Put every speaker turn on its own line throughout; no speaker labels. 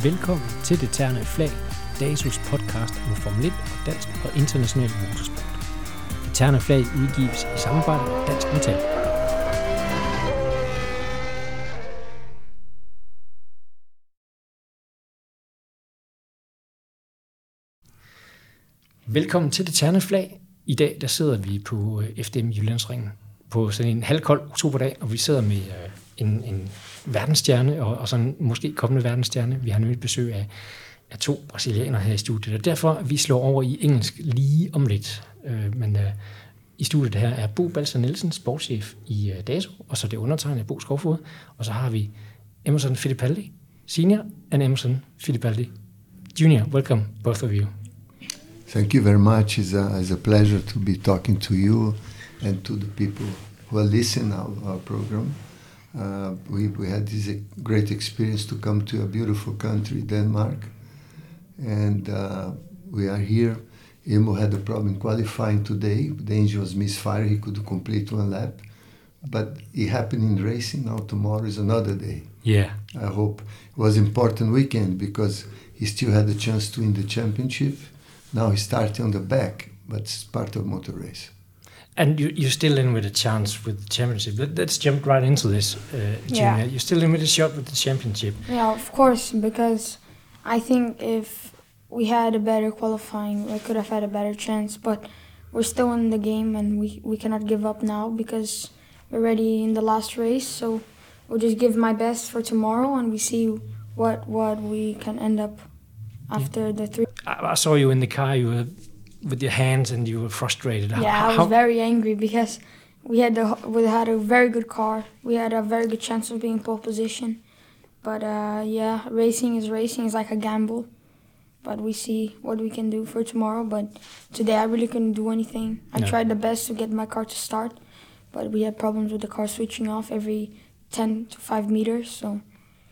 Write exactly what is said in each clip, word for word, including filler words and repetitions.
Velkommen til Det Ternede Flag, DAZUs podcast om Formel et og dansk og international motorsport. Det Ternede Flag udgives i samarbejde med Dansk Metal. Velkommen til Det Ternede Flag. I dag der sidder vi på F D M Jyllandsringen på sådan en halvkold oktoberdag, og vi sidder med en, en verdensstjerne og, og sådan måske kommende verdensstjerne. Vi har nemlig besøg af, af to brasilianere her i studiet, og derfor vi slår over i engelsk lige om lidt. Øh, men øh, i studiet her er Bo Balser Nielsen, sportschef i øh, DAZU, og så det undertegnede Bo Skovfod, og så har vi Emerson Fittipaldi Senior and Emerson Fittipaldi Junior Welcome, both of you.
Thank you very much. It's a, it's a pleasure to be talking to you and to the people who are listening our, our program. Uh, we, we had this great experience to come to a beautiful country, Denmark, and uh, we are here. Emo had a problem qualifying today. The engine was misfired. He could complete one lap, but it happened in racing. Now tomorrow is another day.
Yeah.
I hope it was an important weekend because he still had a chance to win the championship. Now he's starting on the back, but it's part of motor race.
And you, you're still in with a chance with the championship. Let, let's jump right into this, uh, Junior.
Yeah.
You're still in with a shot with the championship.
Yeah, of course, because I think if we had a better qualifying, we could have had a better chance, but we're still in the game and we, we cannot give up now because we're already in the last race, so we'll just give my best for tomorrow and we see what, what we can end up after yeah. the three.
I, I saw you in the car, you were with your hands and you were frustrated.
Yeah,
how,
I was
how?
very angry because we had the, we had a very good car. We had a very good chance of being pole position. But uh, yeah, racing is racing. It's like a gamble. But we see what we can do for tomorrow. But today I really couldn't do anything. I
no.
tried the best to get my car to start. But we had problems with the car switching off every ten to five meters. So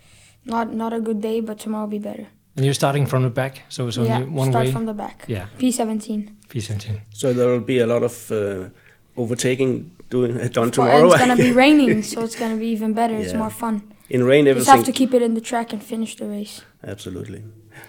not not a good day, but tomorrow will be better.
And you're starting from the back, so it's only
yeah,
one
start
way?
from the back.
Yeah.
P seventeen.
P seventeen.
So there will be a lot of uh, overtaking doing uh, done
Well,
tomorrow.
and it's going to be raining, so it's going to be even better. Yeah. It's more fun.
In rain,
You
everything.
just have to keep it in the track and finish the race.
Absolutely.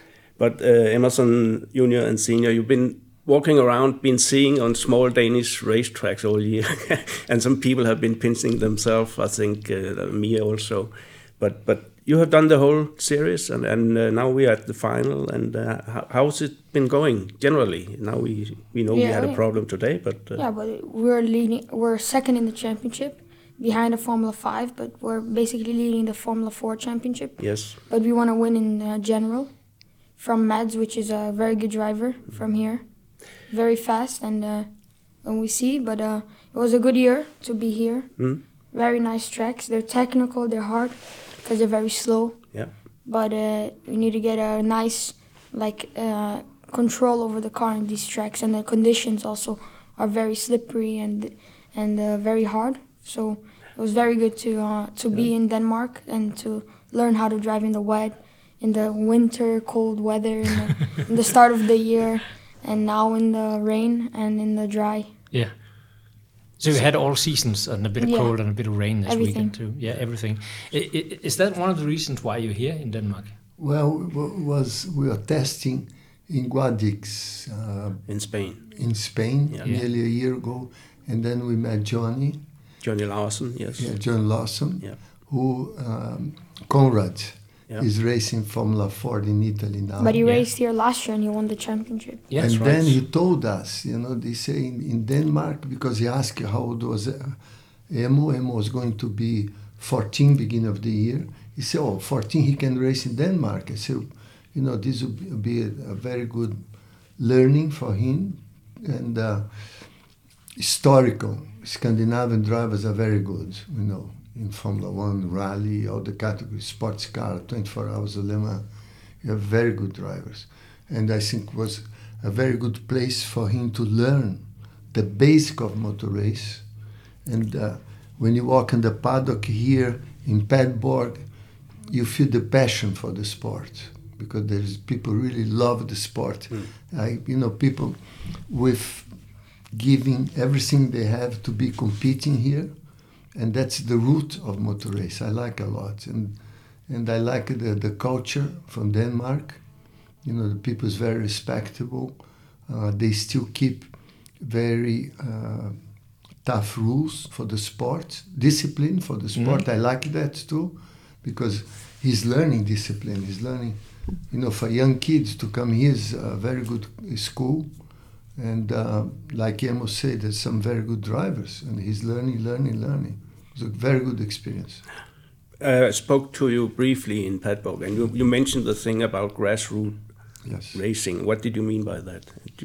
But uh, Emerson Junior and Senior, you've been walking around, been seeing on small Danish racetracks all year, and some people have been pinching themselves. I think uh, me also, but but. You have done the whole series, and, and uh, now we are at the final. And uh, how, how's it been going generally? Now we we know
yeah,
we had
yeah.
a problem today, but uh,
yeah, but we're leading. We're second in the championship, behind the Formula Five, but we're basically leading the Formula Four championship.
Yes.
But we want to win in uh, general, from Mads, which is a very good driver from here, very fast, and uh, and we see. But uh, it was a good year to be here.
Mm.
Very nice tracks. They're technical. They're hard. Because they're very slow.
Yeah.
But uh, we need to get a nice, like, uh, control over the car in these tracks, and the conditions also are very slippery and and uh, very hard. So it was very good to uh, to yeah. be in Denmark and to learn how to drive in the wet, in the winter, cold weather, in the, in the start of the year, and now in the rain and in the dry.
Yeah. So you had all seasons and a bit of
yeah.
cold and a bit of rain this
everything.
weekend too. Yeah, everything. I, I, is that one of the reasons why you're here in Denmark?
Well, it was we were testing in Guadix uh,
in Spain.
In Spain,
yeah.
nearly a year ago, and then we met Johnny.
Johnny Larson, yes.
Yeah, John Lawson,
yeah.
who um, Conrad
yeah.
is racing Formula Ford in Italy now.
But he
yeah.
raced here last year and he won the championship.
Yeah,
and
right.
then he told us, you know, they say in, in Denmark, because he asked how old was uh, Emo. Emo was going to be fourteen beginning of the year. He said, oh, fourteen, he can race in Denmark. I said, you know, this would be a, a very good learning for him. And uh, historical, Scandinavian drivers are very good, you know, in Formula One, rally, all the categories, sports car, twenty-four hours of Le Mans. You have very good drivers. And I think it was a very good place for him to learn the basic of motor race. And uh, when you walk in the paddock here in Padborg, you feel the passion for the sport because there's people really love the sport. Mm. I, you know, people with giving everything they have to be competing here, and that's the root of motor race. I like a lot, and and I like the, the culture from Denmark. You know, the people is very respectable. Uh, they still keep very uh, tough rules for the sport, discipline for the sport. Mm. I like that too, because he's learning discipline. He's learning, you know, for young kids to come here is a very good school. And uh, like Emo said, there's some very good drivers, and he's learning, learning, learning. It's a very good experience.
Uh, I spoke to you briefly in Padborg, and you, you mentioned the thing about grassroots
yes.
racing. What did you mean by that?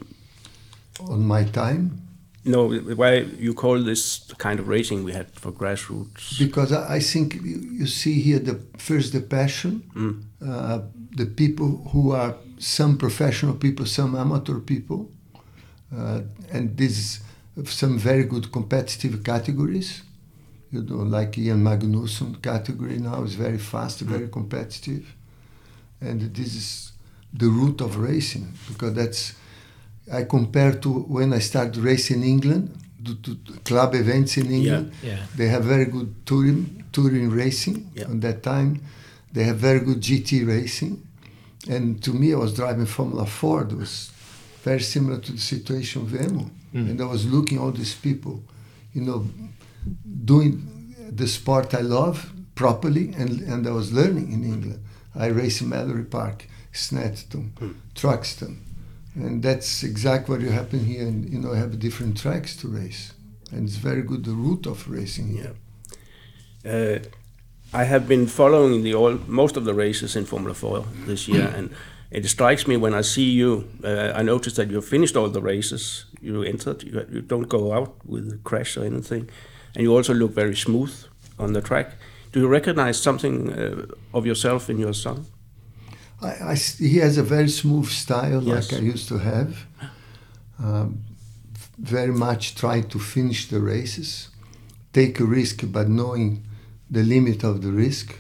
On my time?
No, why you call this the kind of racing we had for grassroots?
Because I, I think you, you see here the first the passion, mm. uh, the people who are some professional people, some amateur people, uh, and this some very good competitive categories. You know, like Ian Magnussen category now is very fast, mm. very competitive, and this is the root of racing, because that's. I compare to when I started racing in England, to, to club events in England.
Yeah, yeah.
They have very good touring, touring racing
yeah.
at that time. They have very good G T racing. And to me, I was driving Formula four. It was very similar to the situation of Emo. Mm. And I was looking at all these people, you know, doing the sport I love properly, and, and I was learning in England. I raced in Mallory Park, Snetterton, mm. Truxton. And that's exactly what you happen here. And, you know, I have different tracks to race. And it's very good, the route of racing here.
Yeah. Uh, I have been following the all, most of the races in Formula four this year. And it strikes me when I see you, uh, I noticed that you finished all the races you entered. You, you don't go out with a crash or anything. And you also look very smooth on the track. Do you recognize something uh, of yourself in your son?
I, I, he has a very smooth style,
yes.
like I used to have. Um, very much try to finish the races, take a risk, but knowing the limit of the risk.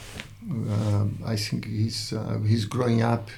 Um, I think he's uh, he's growing up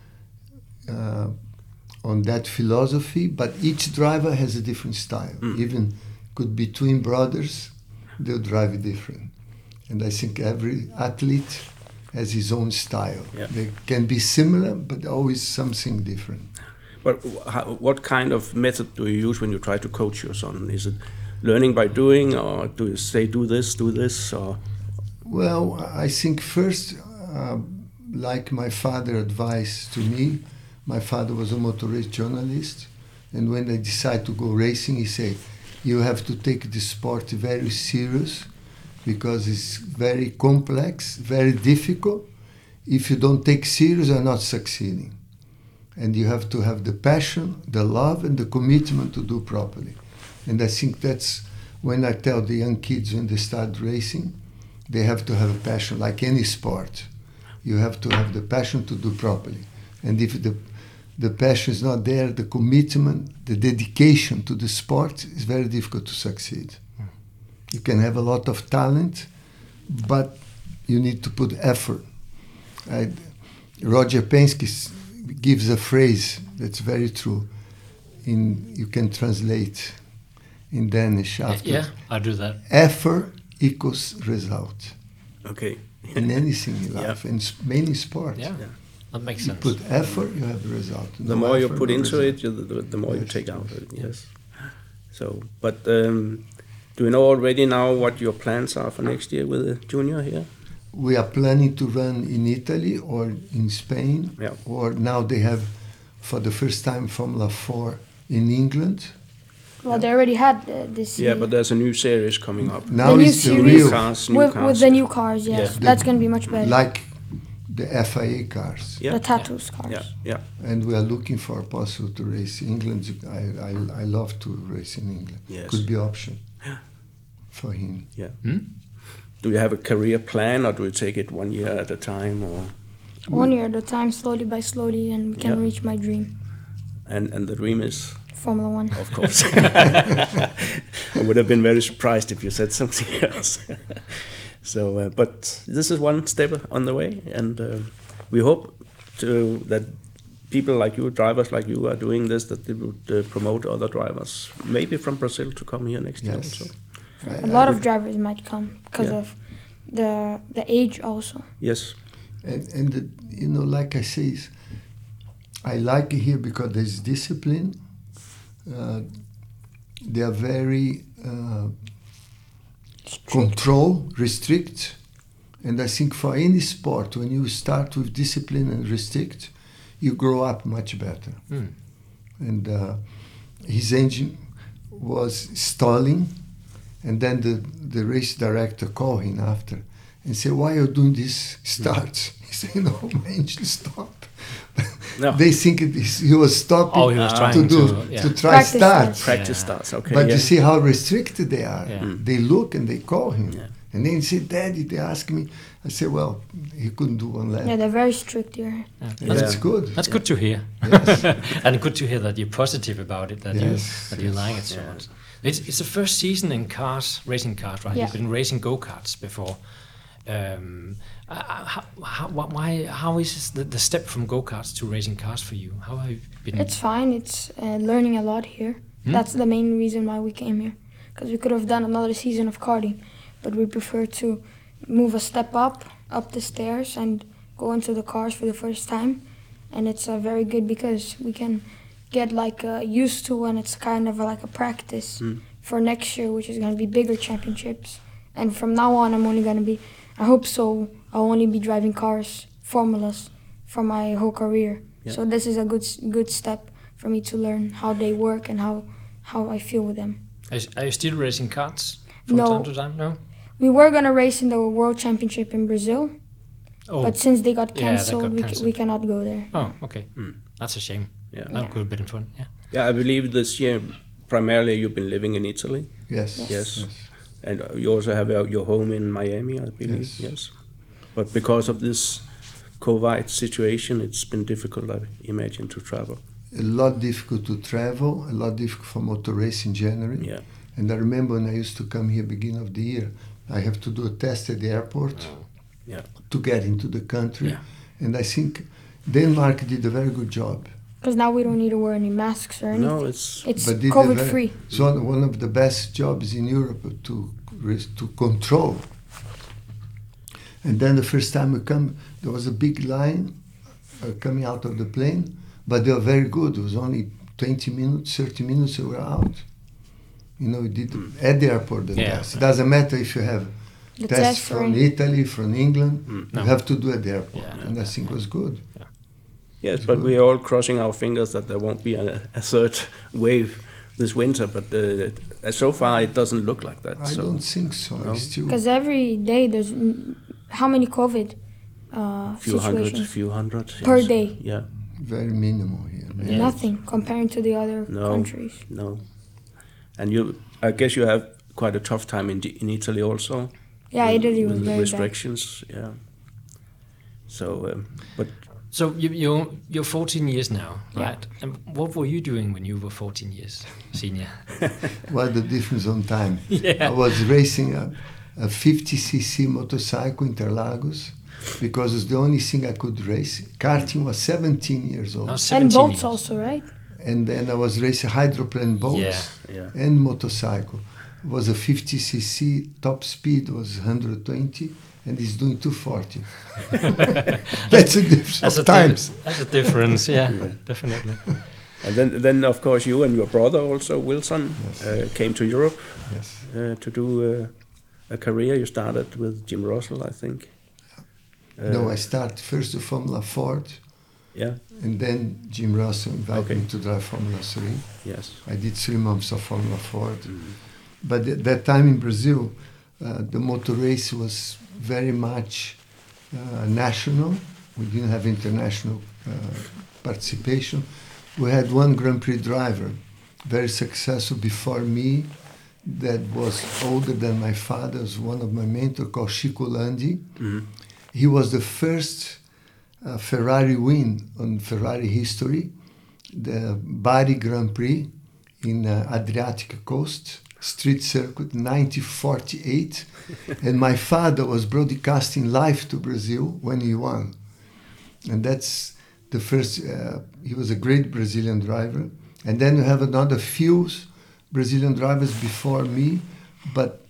uh, on that philosophy. But each driver has a different style. Mm. Even could be twin brothers, they'll drive different. And I think every athlete has his own style. Yeah. They can be similar, but always something different.
But how, what kind of method do you use when you try to coach your son? Is it learning by doing, or do you say do this, do this? Or
well, I think first, uh, like my father advised to me, my father was a motor race journalist, and when I decided to go racing, he said, you have to take the sport very serious, because it's very complex, very difficult. If you don't take serious, you're not succeeding. And you have to have the passion, the love, and the commitment to do properly. And I think that's when I tell the young kids when they start racing, they have to have a passion, like any sport. You have to have the passion to do properly. And if the, the passion is not there, the commitment, the dedication to the sport is very difficult to succeed. You can have a lot of talent, but you need to put effort. I, Roger Penske gives a phrase that's very true. In you can translate in Danish after.
Yeah, I do that.
Effort equals result.
Okay.
In anything in life, yeah. in many sports.
Yeah, yeah. That makes
you
sense.
Put effort, you have the result.
The
no
more
effort,
you put
no
into
result.
it, you, the, the more
yes,
you take out of it.
Yes.
Yes. So, but um, do you know already now what your plans are for next year with the junior here?
We are planning to run in Italy or in Spain,
yeah.
or now they have, for the first time, Formula four in England.
Well, they already had uh, this.
Yeah,
uh,
but there's a new series coming up.
Now
the
it's the
series
real
cars, new
with,
cars.
with the new cars. Yes,
Yeah.
that's going to be much better.
Like the F I A cars.
Yeah.
The tattoos cars.
Yeah, yeah.
And we are looking for a possible to race in England. I, I, I love to race in England.
Yes.
Could be option for him.
Yeah.
Hmm?
Do you have a career plan, or do you take it one year at a time, or
One year at a time, slowly by slowly, and we can
Yeah.
reach my dream.
and and the dream is,
Formula One.
of course. I would have been very surprised if you said something else. So, uh, but this is one step on the way, and uh, we hope to that people like you, drivers like you, are doing this, that they would uh, promote other drivers, maybe from Brazil, to come here next year
Yes.
also.
I-
A lot
I
of
would-
drivers might come because
Yeah.
of the the age also.
Yes.
And, and the, you know, like I say, I like it here because there's discipline. Uh, they are very uh, control, restrict. And I think for any sport, when you start with discipline and restrict, you grow up much better.
Mm.
And uh, his engine was stalling, and then the, the race director called him after and said, "Why are you doing this starts?" He said, "No, my engine stopped."
No.
They think it is, he was stopping
Oh, he was
to
trying
do
to, yeah.
to try
Practice
start.
starts.
Practice
Yeah.
starts. Okay.
But
yeah.
you see how restricted they are.
Yeah. Mm.
They look and they call him.
Yeah.
And then he said, "Daddy," they ask me. I said, "Well, he couldn't do one lap."
Yeah, they're very strict here.
Yeah.
And
That's,
that's good.
that's good to hear.
Yes.
And good to hear that you're positive about it, that
Yes,
you that you
yes.
like it so
Yeah.
much. It's it's the first season in cars, racing cars, right?
Yeah.
You've been racing go-karts before. Um, uh, how, how, wh- why, how is the, the step from go-karts to racing cars for you? How have you been?
It's fine. It's uh, learning a lot here.
Hmm?
That's the main reason why we came here. Because we could have done another season of karting, but we prefer to move a step up, up the stairs, and go into the cars for the first time. And it's uh, very good because we can get like uh, used to, and it's kind of like a practice
Mm.
for next year, which is going to be bigger championships. And from now on, I'm only going to be, I hope so, I'll only be driving cars, formulas, for my whole career.
Yeah.
So this is a good s- good step for me to learn how they work and how, how I feel with them.
Are you- are you still racing karts from
No.
time to time? No.
We were going to race in the World Championship in Brazil,
Oh.
but since they got
Yeah, that
cancelled,
got
we, c-
cancelled.
we cannot go there.
Oh, okay.
Mm.
That's a shame.
Yeah.
That
Yeah.
could have been fun. Yeah.
Yeah, I believe this year primarily you've been living in Italy,
Yes.
Yes.
Yes. and you also have uh, your home in Miami, I believe.
Yes.
Yes. But because of this COVID situation, it's been difficult, I imagine, to travel.
A lot difficult to travel, a lot difficult for motor race in January.
Yeah.
And I remember when I used to come here beginning of the year, I have to do a test at the airport
Yeah.
to get into the country.
Yeah.
And I think Denmark did a very good job.
Because now we don't need to wear any masks or anything.
No, it's
It's
But did a
COVID
very-
free.
It's one, one of the best jobs in Europe to res- to control. And then the first time we come, there was a big line uh, coming out of the plane, but they were very good. It was only twenty minutes, thirty minutes, we were out. You know, we did at the airport the
Yeah.
test. It doesn't matter if you have
The
tests
test
from
or
Italy, from England,
No.
you have to do at the airport.
Yeah.
And I think it was good.
yes, but we are all crossing our fingers that there won't be a, a third wave this winter. But uh, so far, it doesn't look like that.
I
so
don't think so.
No.
I still,
Because every day there's mm, how many COVID uh,
few hundred,
situations?
few hundred
Per
yes.
day.
Yeah.
very minimal here.
Yeah.
Nothing comparing to the other
No.
countries.
No. And you, I guess you have quite a tough time in in Italy also.
Yeah,
with-
Italy was
with the
very bad.
restrictions. Yeah. So, um, but
So you, you're you're fourteen years now,
Yeah.
right? And what were you doing when you were fourteen years senior?
What the difference on time?
Yeah.
I was racing a, a fifty c c motorcycle in Interlagos because it's the only thing I could race. Karting was seventeen years old.
No,
And
seventeen
boats
years.
also, right?
And then I was racing hydroplane boats
Yeah.
yeah.
and motorcycle. It was a fifty c c, top speed was one hundred twenty, and he's doing two forty. That's a difference
That's a
of times.
di- That's a difference. Yeah, definitely.
And then, then of course, you and your brother also, Wilson, uh, came to Europe
Yes.
uh, to do uh, a career. You started with Jim Russell, I think. Uh,
no, I started first with Formula Ford,
Yeah.
and then Jim Russell invited
Okay.
me to drive Formula three.
Yes.
I did three months of Formula Ford. But at that time in Brazil, uh, the motor race was very much uh, national. We didn't have international uh, participation. We had one Grand Prix driver, very successful before me, that was older than my father, was one of my mentors, called Chico Landi.
Mhm.
He was the first uh, Ferrari win on Ferrari history, the Bari Grand Prix in uh, Adriatic Coast, street circuit, nineteen forty-eight. And my father was broadcasting live to Brazil when he won. And that's the first, uh, he was a great Brazilian driver. And then you have another few Brazilian drivers before me, but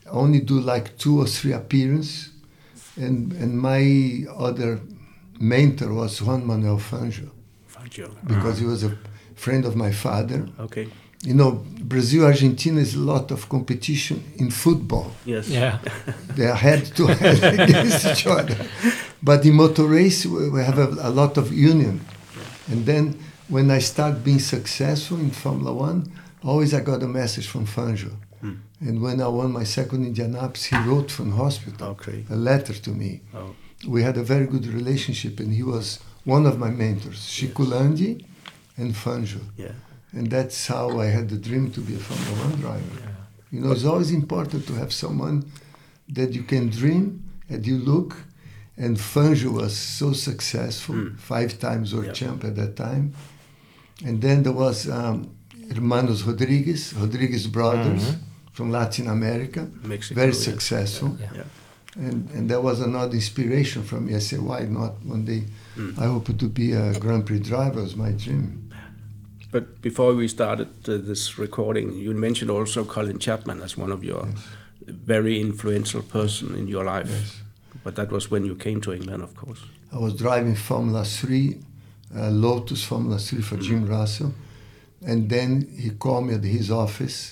only do like two or three appearances. And and my other mentor was Juan Manuel Fangio,
Fangio.
because he was a friend of my father.
Okay.
You know, Brazil, Argentina is a lot of competition in football.
Yes.
Yeah.
They are head to head against each other. But in motor race, we we have a, a lot of union. And then when I start being successful in Formula One, always I got a message from Fangio.
Hmm.
And when I won my second Indianapolis, he wrote from hospital
Okay.
a letter to me.
Oh.
We had a very good relationship, and he was one of my mentors, Chico Landi and Fangio.
Yeah.
And that's how I had the dream to be a Formula One driver.
Yeah.
You know, it's always important to have someone that you can dream and you look. And Fangio was so successful,
Mm.
five times world
Yep.
champ at that time. And then there was um, Hermanos Rodriguez, Rodriguez brothers
Mhm.
from Latin America,
Mexico.
very
yes.
successful.
Yeah.
Yeah.
And, and that was another inspiration from me. I said, why not one day?
Mm.
I hope to be a Grand Prix driver was my dream.
But before we started uh, this recording, you mentioned also Colin Chapman as one of your
Yes.
very influential person in your life.
Yes.
But that was when you came to England, of course.
I was driving Formula three, uh, Lotus Formula three for Jim Russell. And then he called me at his office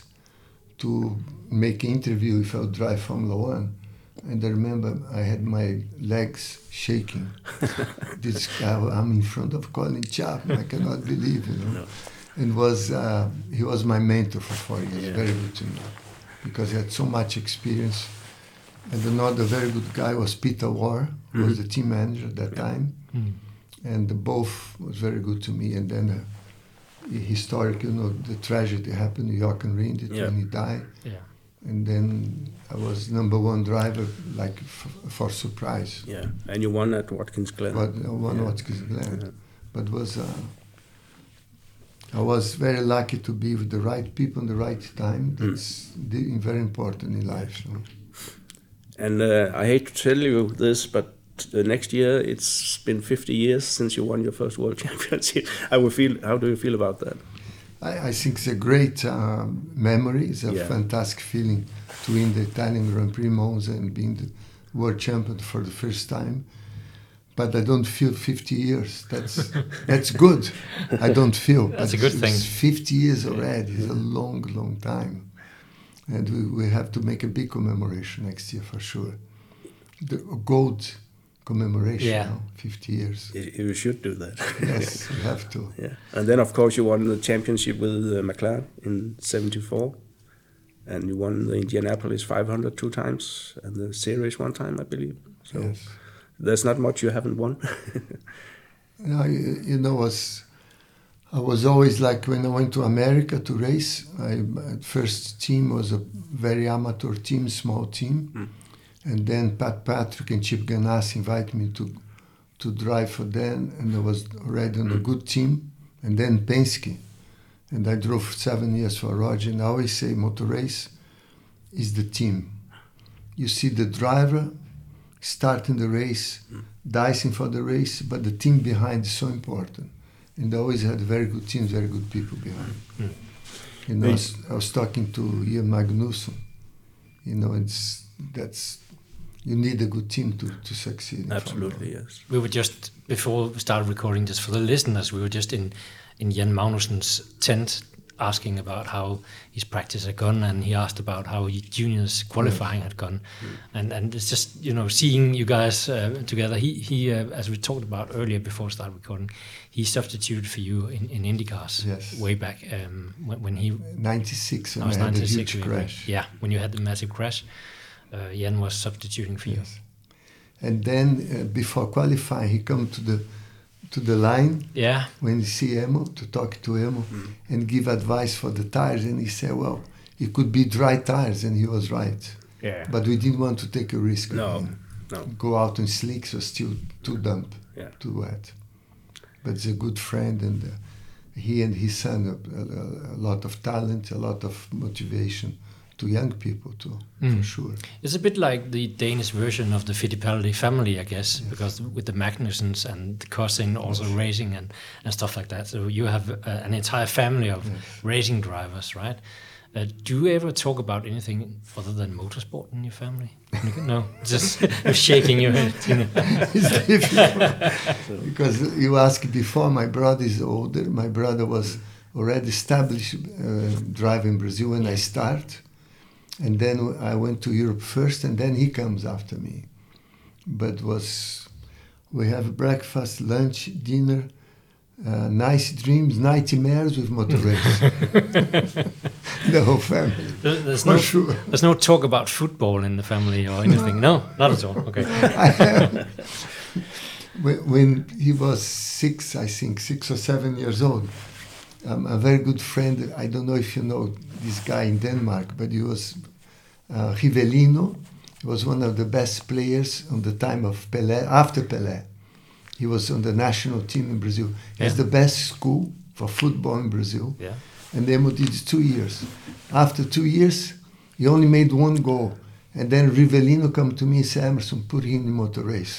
to make an interview if I would drive Formula One. And I remember I had my legs shaking. This guy, I'm in front of Colin Chapman. I cannot believe, you know.
No.
And was uh, he was my mentor for four years,
Yeah.
very good to me, because he had so much experience. And another very good guy was Peter Warr, who was
Mhm.
the team manager at that
Yeah.
time.
Mm.
And both was very good to me. And then uh, historic, you know, the tragedy happened in York and Rindt
Yeah.
when he died.
Yeah.
And then I was number one driver, like f- for surprise.
Yeah. And you won at Watkins Glen.
But uh, one
Yeah.
Watkins Glen.
Yeah.
But was uh, I was very lucky to be with the right people in the right time. That's the, very important in life. So.
And uh, I hate to tell you this, but uh, next year it's been fifty years since you won your first world championship. I will feel. How do you feel about that?
I, I think it's a great um, memory. It's a
Yeah.
fantastic feeling to win the Italian Grand Prix Monza and being the world champion for the first time. But I don't feel fifty years. That's that's good. I don't feel.
That's
but
a good
it's
thing.
fifty years already. It's a long, long time. And we, we have to make a big commemoration next year for sure. The gold commemoration,
Yeah.
you know, fifty years.
You you should do that.
Yes, we have to.
Yeah. And then, of course, you won the championship with uh, McLaren in seventy-four. And you won the Indianapolis five hundred two times and the series one time, I believe. So
Yes.
there's not much you haven't won.
You know, you, you know, was I was always like when I went to America to race. I my first team was a very amateur team, small team,
Mm.
and then Pat Patrick and Chip Ganassi invited me to to drive for them, and I was already on a good team. And then Penske, and I drove seven years for Roger. And I always say, motor race is the team. You see the driver starting the race, dicing for the race, but the team behind is so important. And I always had very good teams, very good people behind.
Mm.
You know, I was, I was talking to Ian Magnussen. You know, it's that's you need a good team to, to succeed. in
Absolutely,
Formula
yes.
We were just, before we started recording, just for the listeners, we were just in, in Jan Magnussen's tent asking about how his practice had gone, and he asked about how his juniors qualifying had gone. And and it's just, you know, seeing you guys uh, together. He, he uh, as we talked about earlier before we started recording, he substituted for you in, in IndyCars
Yes.
way back um, when, when he...
ninety-six, when
I was
I had a
ninety-six,
huge
really.
crash.
Yeah, when you had the massive crash, uh, Jan was substituting for you.
Yes. And then uh, before qualifying, he come to the to the line
Yeah,
when he see Emo, to talk to Emo and give advice for the tires. And he said, well, it could be dry tires, and he was right.
yeah.
But we didn't want to take a risk. with
No,
him.
no.
Go out in slicks or still too damp,
Yeah.
too wet. But he's a good friend, and uh, he and his son, a, a, a lot of talent, a lot of motivation to young people too, for
Mm.
sure.
It's a bit like the Danish version of the Fittipaldi family, I guess, because with the Magnussens and the cousin also racing and, and stuff like that. So you have uh, an entire family of
Yes.
racing drivers, right? Uh, do you ever talk about anything other than motorsport in your family? No, just shaking your head. You know.
It's difficult because you asked before. My brother is older. My brother was already established uh, driving in Brazil when I start, and then I went to Europe first, and then he comes after me. But was we have breakfast, lunch, dinner, uh, nice dreams, nightmares with motor race. The whole family.
There- There's
For
no,
sure.
there's no talk about football in the family or anything. No, not at all. Okay.
I have. When, when he was six, I think, six or seven years old, um, a very good friend, I don't know if you know this guy in Denmark, but he was uh, Rivellino. He was one of the best players on the time of Pelé, after Pelé. He was on the national team in Brazil. He has
Yeah.
the best school for football in Brazil.
Yeah.
And Emo did two years. After two years, he only made one goal. And then Rivellino come to me and said, Emerson, put him in motor race.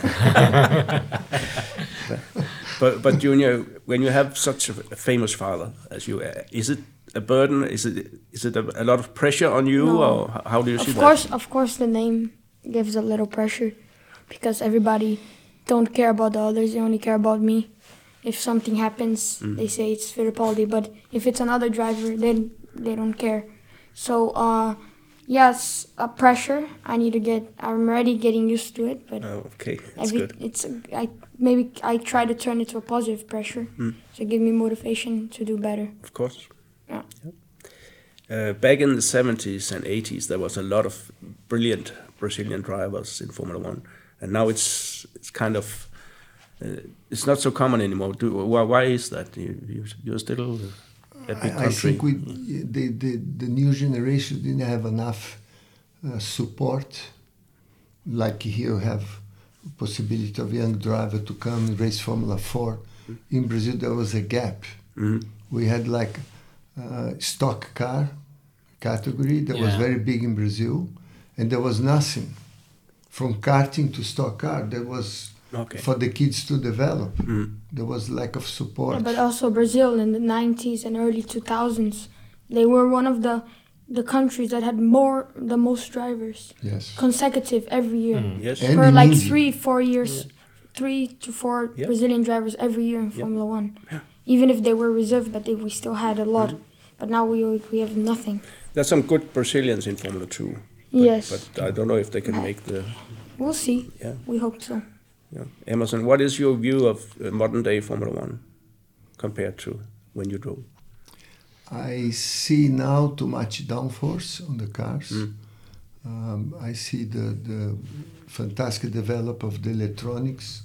But but Junior, when you have such a famous father as you, uh, is it a burden? Is it is it a, a lot of pressure on you,
No.
or h- how do you see
Of
that?
course, of course, the name gives a little pressure because everybody don't care about the others; they only care about me. If something happens, they say it's Fittipaldi, but if it's another driver, then they don't care. So, uh, yes, a pressure. I need to get. I'm already getting used to it, but
Oh, okay, that's
every,
good.
it's I maybe I try to turn it to a positive pressure to give me motivation to do better.
Of course.
Yeah.
Uh, back in the seventies and eighties, there was a lot of brilliant Brazilian drivers in Formula One, and now it's it's kind of uh, it's not so common anymore. Do, why, why is that? You, you you're still a big
I, I
country.
think we, the, the, the new generation didn't have enough uh, support. Like here you have possibility of young driver to come and race Formula four. In Brazil there was a gap.
Mhm.
We had like uh, stock car category that was
Yeah.
very big in Brazil, and there was nothing. From karting to stock car, there was
Okay.
for the kids to develop.
Mm.
There was lack of support.
Yeah, but also Brazil in the nineties and early two thousands, they were one of the the countries that had more the most drivers
Yes.
consecutive every year.
Yes.
And
For
in
like
Indy.
three, four years, three to four
Yeah.
Brazilian drivers every year in
Yeah.
Formula One. Even if they were reserved, but they, we still had a lot. But now we we have nothing.
There's some good Brazilians in Formula Two.
Yes,
But I don't know if they can make the.
we'll see.
Yeah.
We hope so.
Yeah. Emerson, what is your view of uh, modern day Formula One compared to when you drove?
I see now too much downforce on the cars.
Mm.
Um, I see the, the fantastic develop of the electronics,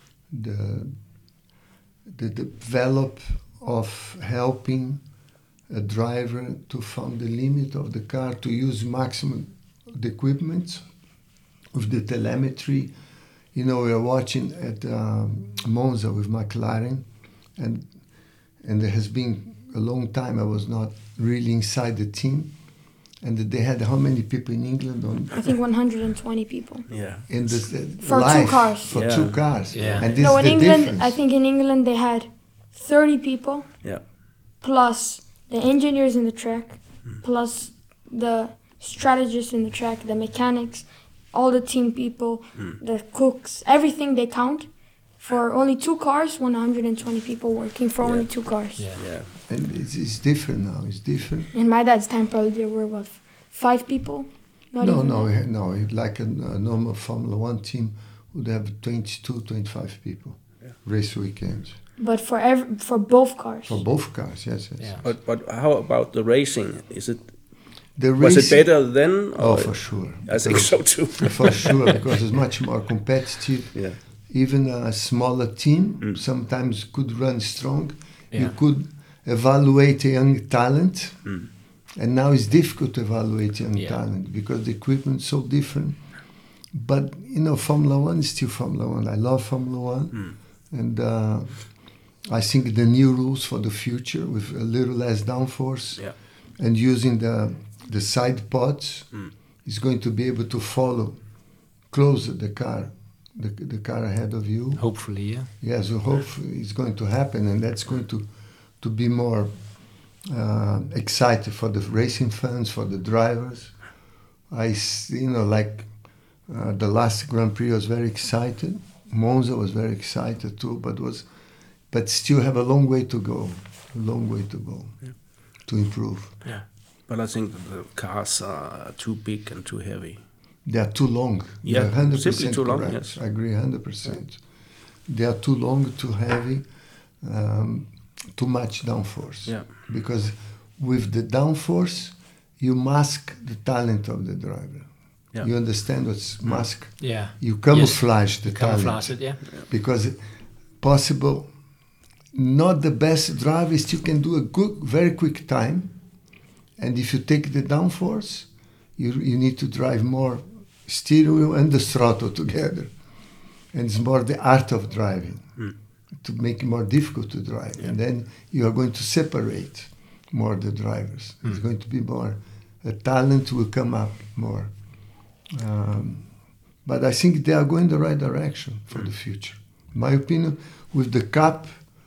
the the develop of helping a driver to find the limit of the car, to use maximum of the equipment, with the telemetry. You know, we are watching at um, Monza with McLaren, and and there has been a long time I was not really inside the team, and they had how many people in England on
I think one hundred twenty people.
Yeah.
in this uh,
For two
live
cars.
for
Yeah.
two cars,
Yeah.
and this
No,
is
in
the
England,
difference.
I think in England they had thirty people
Yeah.
plus the engineers in the track, plus the strategists in the track, the mechanics, all the team people, the cooks, everything they count. For only two cars, one hundred twenty people working for only two cars.
Yeah.
Yeah.
And it's, it's different now. It's different.
In my dad's time, probably there were what, five people? Not
no,
even
no,
that.
it- no. It, like a, a normal Formula One team would have twenty-two, twenty-five people race weekends
But for every, for both cars.
for both cars. Yes, yes.
Yeah.
But but how about the racing? Is it
The
was it
racing-
better then?
Oh,
or-
for sure.
I think so too.
For sure, because it's much more competitive.
Yeah.
Even a smaller team
Mm.
sometimes could run strong. You
Yeah.
could evaluate a young talent,
Mm.
and now it's difficult to evaluate young
Yeah.
talent because the equipment's so different. But you know, Formula One is still Formula One. I love Formula One,
Mm.
and uh, I think the new rules for the future with a little less downforce
Yeah.
and using the the side pods
Mm.
is going to be able to follow closer the car, the, the car ahead of you.
Hopefully, yeah.
Yes, we hope it's going to happen, and that's going to to be more uh, excited for the racing fans, for the drivers. I, s- you know, like uh, the last Grand Prix, I was very excited. Monza was very excited too, but was, but still have a long way to go, a long way to go
Yeah.
to improve.
Yeah. But I think the cars are too big and too heavy.
They are too long.
Yeah,
You're one hundred percent
simply too long,
correct.
yes.
I agree one hundred percent. They are too long, too heavy, um, too much downforce.
Yeah.
Because with the downforce, you mask the talent of the driver.
Yeah.
You understand what's mask?
Yeah.
You camouflage the talent.
Camouflage it, yeah.
Because possible, not the best driver still can do a good, very quick time. And if you take the downforce, you you need to drive more steering wheel and the throttle together. And it's more the art of driving
Mm.
to make it more difficult to drive.
Yeah.
And then you are going to separate more the drivers. It's going to be more, a talent will come up more. Um, but I think they are going the right direction for the future. In my opinion, with the cap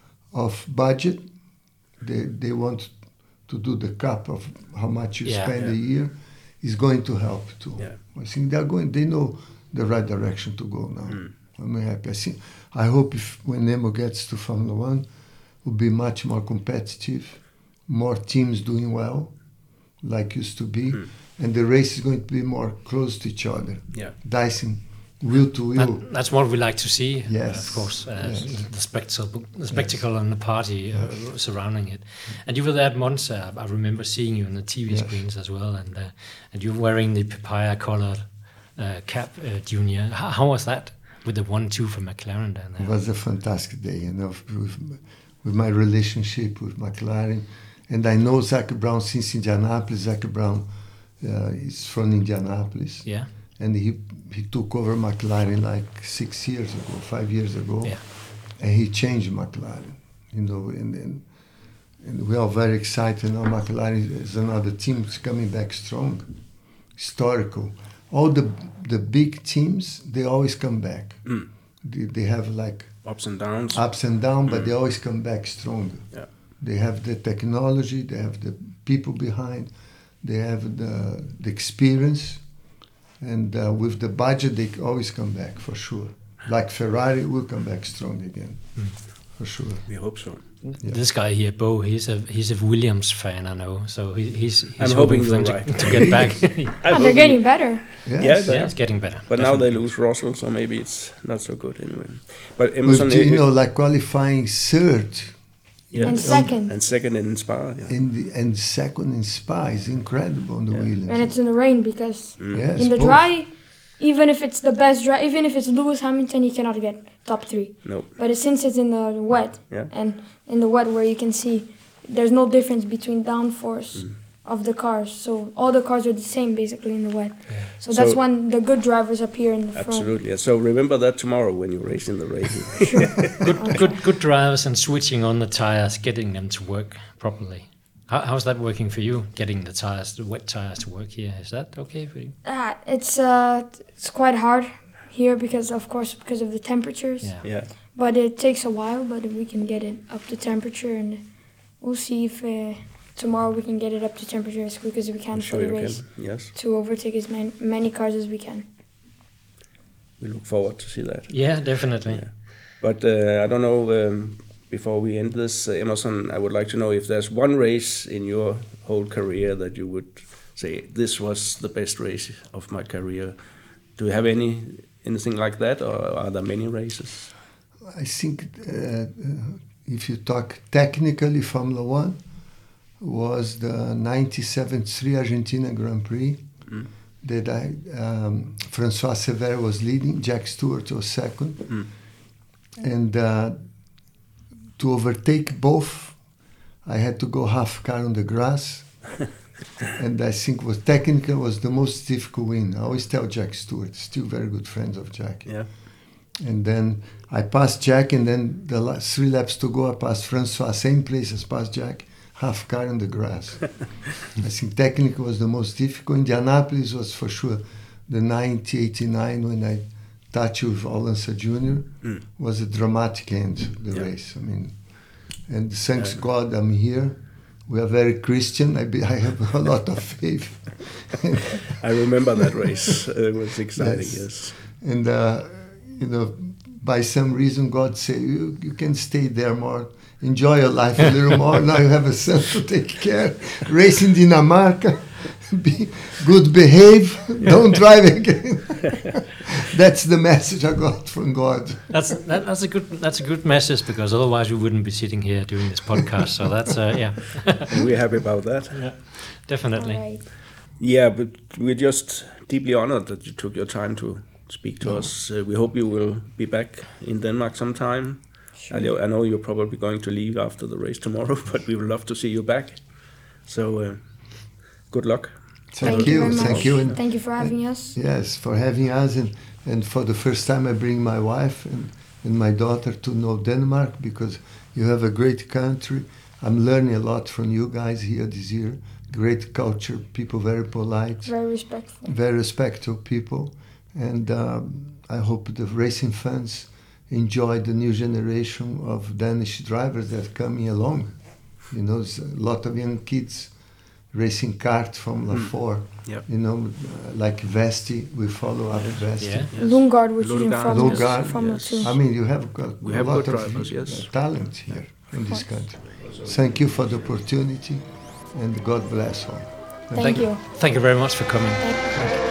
of budget, they, they want to do the cap of how much you
Yeah.
spend
Yeah.
a year is going to help too.
Yeah.
I think they are going, they know the right direction to go now.
Mm.
I'm happy. I, think, I hope if when Nemo gets to Formula One, will be much more competitive, more teams doing well, like used to be,
Mm.
and the race is going to be more close to each other,
Yeah.
dicing wheel to wheel.
That, that's what we like to see,
Yes.
uh, of course, uh,
Yes.
the, spectacle, the spectacle and the party uh, surrounding it. And you were there at Monza. I remember seeing you on the T V
Yes.
screens as well, and uh, and you were wearing the papaya-colored uh, cap, uh, Junior. How, how was that with the one-two from McLaren down
It
there?
was a fantastic day, you know, with, with my relationship with McLaren. And I know Zach Brown since Indianapolis. Zach Brown uh, is from Indianapolis.
Yeah,
And he, he took over McLaren like six years ago, five years ago.
yeah,
And he changed McLaren, you know, and, and, and we are very excited now. McLaren is another team that's coming back strong, historical. All the the big teams, they always come back.
Mm.
They, they have like
Ups and downs.
ups and downs, but they always come back stronger.
Yeah.
They have the technology, they have the people behind, they have the, the experience, and uh, with the budget, they always come back for sure. Like Ferrari will come back strong again,
Mm.
for sure.
We hope so.
Yeah.
This guy here, Bo, he's a he's a Williams fan, I know. So he, he's he's
I'm
hoping
hoping
for them
you're
to,
right.
to get back.
Oh, they're getting better.
Yes.
Yeah,
Yeah, it's getting better.
But now they
definitely.
lose Russell, so maybe it's not so good anyway. But
With,
Emerson,
you know, like qualifying third
yeah,
And second.
and second in Spa. Yeah.
in the, and second in Spa is incredible on the
Yeah.
Williams.
And it's in the rain because
Mm.
Yes,
in the
both.
dry, even if it's the best dry, even if it's Lewis Hamilton, he cannot get top three.
No.
But since it's in the wet,
Yeah.
and in the wet where you can see there's no difference between downforce
Mm.
of the cars. So all the cars are the same basically in the wet. So that's
So-
when the good drivers appear in the front.
Absolutely. Yeah. So remember that tomorrow when you race in the rain.
good, good, good drivers and switching on the tires, getting them to work properly. How, how's that working for you? Getting the tires, the wet tires, to work here? Is that okay for you?
Uh, it's uh, it's quite hard here because of course because of the temperatures.
Yeah.
yeah.
But it takes a while, but we can get it up to temperature, and we'll see if uh, tomorrow we can get it up to temperature as quick as we can
I'm
for
sure
the
you
race
can. Yes.
to overtake as man- many cars as we can.
We look forward to see that.
Yeah, definitely.
Yeah. But uh, I don't know, um, before we end this, uh, Emerson, I would like to know if there's one race in your whole career that you would say, this was the best race of my career. Do you have any anything like that, or are there many races?
I think uh, uh, if you talk technically, Formula One was the ninety-seven three Argentina Grand Prix
Mm.
that I, um, Francois Severo was leading, Jack Stewart was second.
Mm.
And uh, to overtake both, I had to go half car on the grass. And I think was technically was the most difficult win. I always tell Jack Stewart, still very good friends of Jack.
Yeah.
And then I passed Jack, and then the last three laps to go, I passed Francois, same place as passed Jack, half car on the grass. I think technically was the most difficult. Indianapolis was for sure the ninety eighty-nine when I touched with Alonso Junior
Mm.
was a dramatic end to the
Yeah.
race. I mean, and thanks
Yeah.
God I'm here We are very Christian. I, be, I have a lot of faith.
I remember that race. It was exciting, yes. yes.
And, uh, you know, by some reason, God said, you, you can stay there more. Enjoy your life a little more. Now you have a son to take care. Race in Dinamarca. Be good behave. Yeah. Don't drive again. That's the message I got from God.
That's that, that's a good that's a good message, because otherwise we wouldn't be sitting here doing this podcast. So that's uh, yeah.
And we're happy about that.
Yeah, definitely.
Right.
Yeah, but we're just deeply honored that you took your time to speak to oh. us. Uh, we hope you will be back in Denmark sometime. Sure. I, know, I know you're probably going to leave after the race tomorrow, but we would love to see you back. So uh, good luck.
Thank,
Thank
you,
you
thank you, and
thank you for having us.
Yes, for having us, and, and for the first time I bring my wife and, and my daughter to know Denmark, because you have a great country. I'm learning a lot from you guys here this year. Great culture, people very polite,
very respectful,
very respectful people, and um, I hope the racing fans enjoy the new generation of Danish drivers that are coming along. You know, there's a lot of young kids racing kart from La Four,
mm. yep.
you know, uh, like Vesti, we follow up yeah. Vesti.
Yeah, yes. Lundgaard, which is in Formula,
Lundgaard,
Formula
yes.
two.
I mean, you have got
we
a
have
lot
good
of
drivers, yes.
talent here in this country. Thank you for the opportunity, and God bless all.
Thank, thank you.
Thank you very much for coming.
Thank you.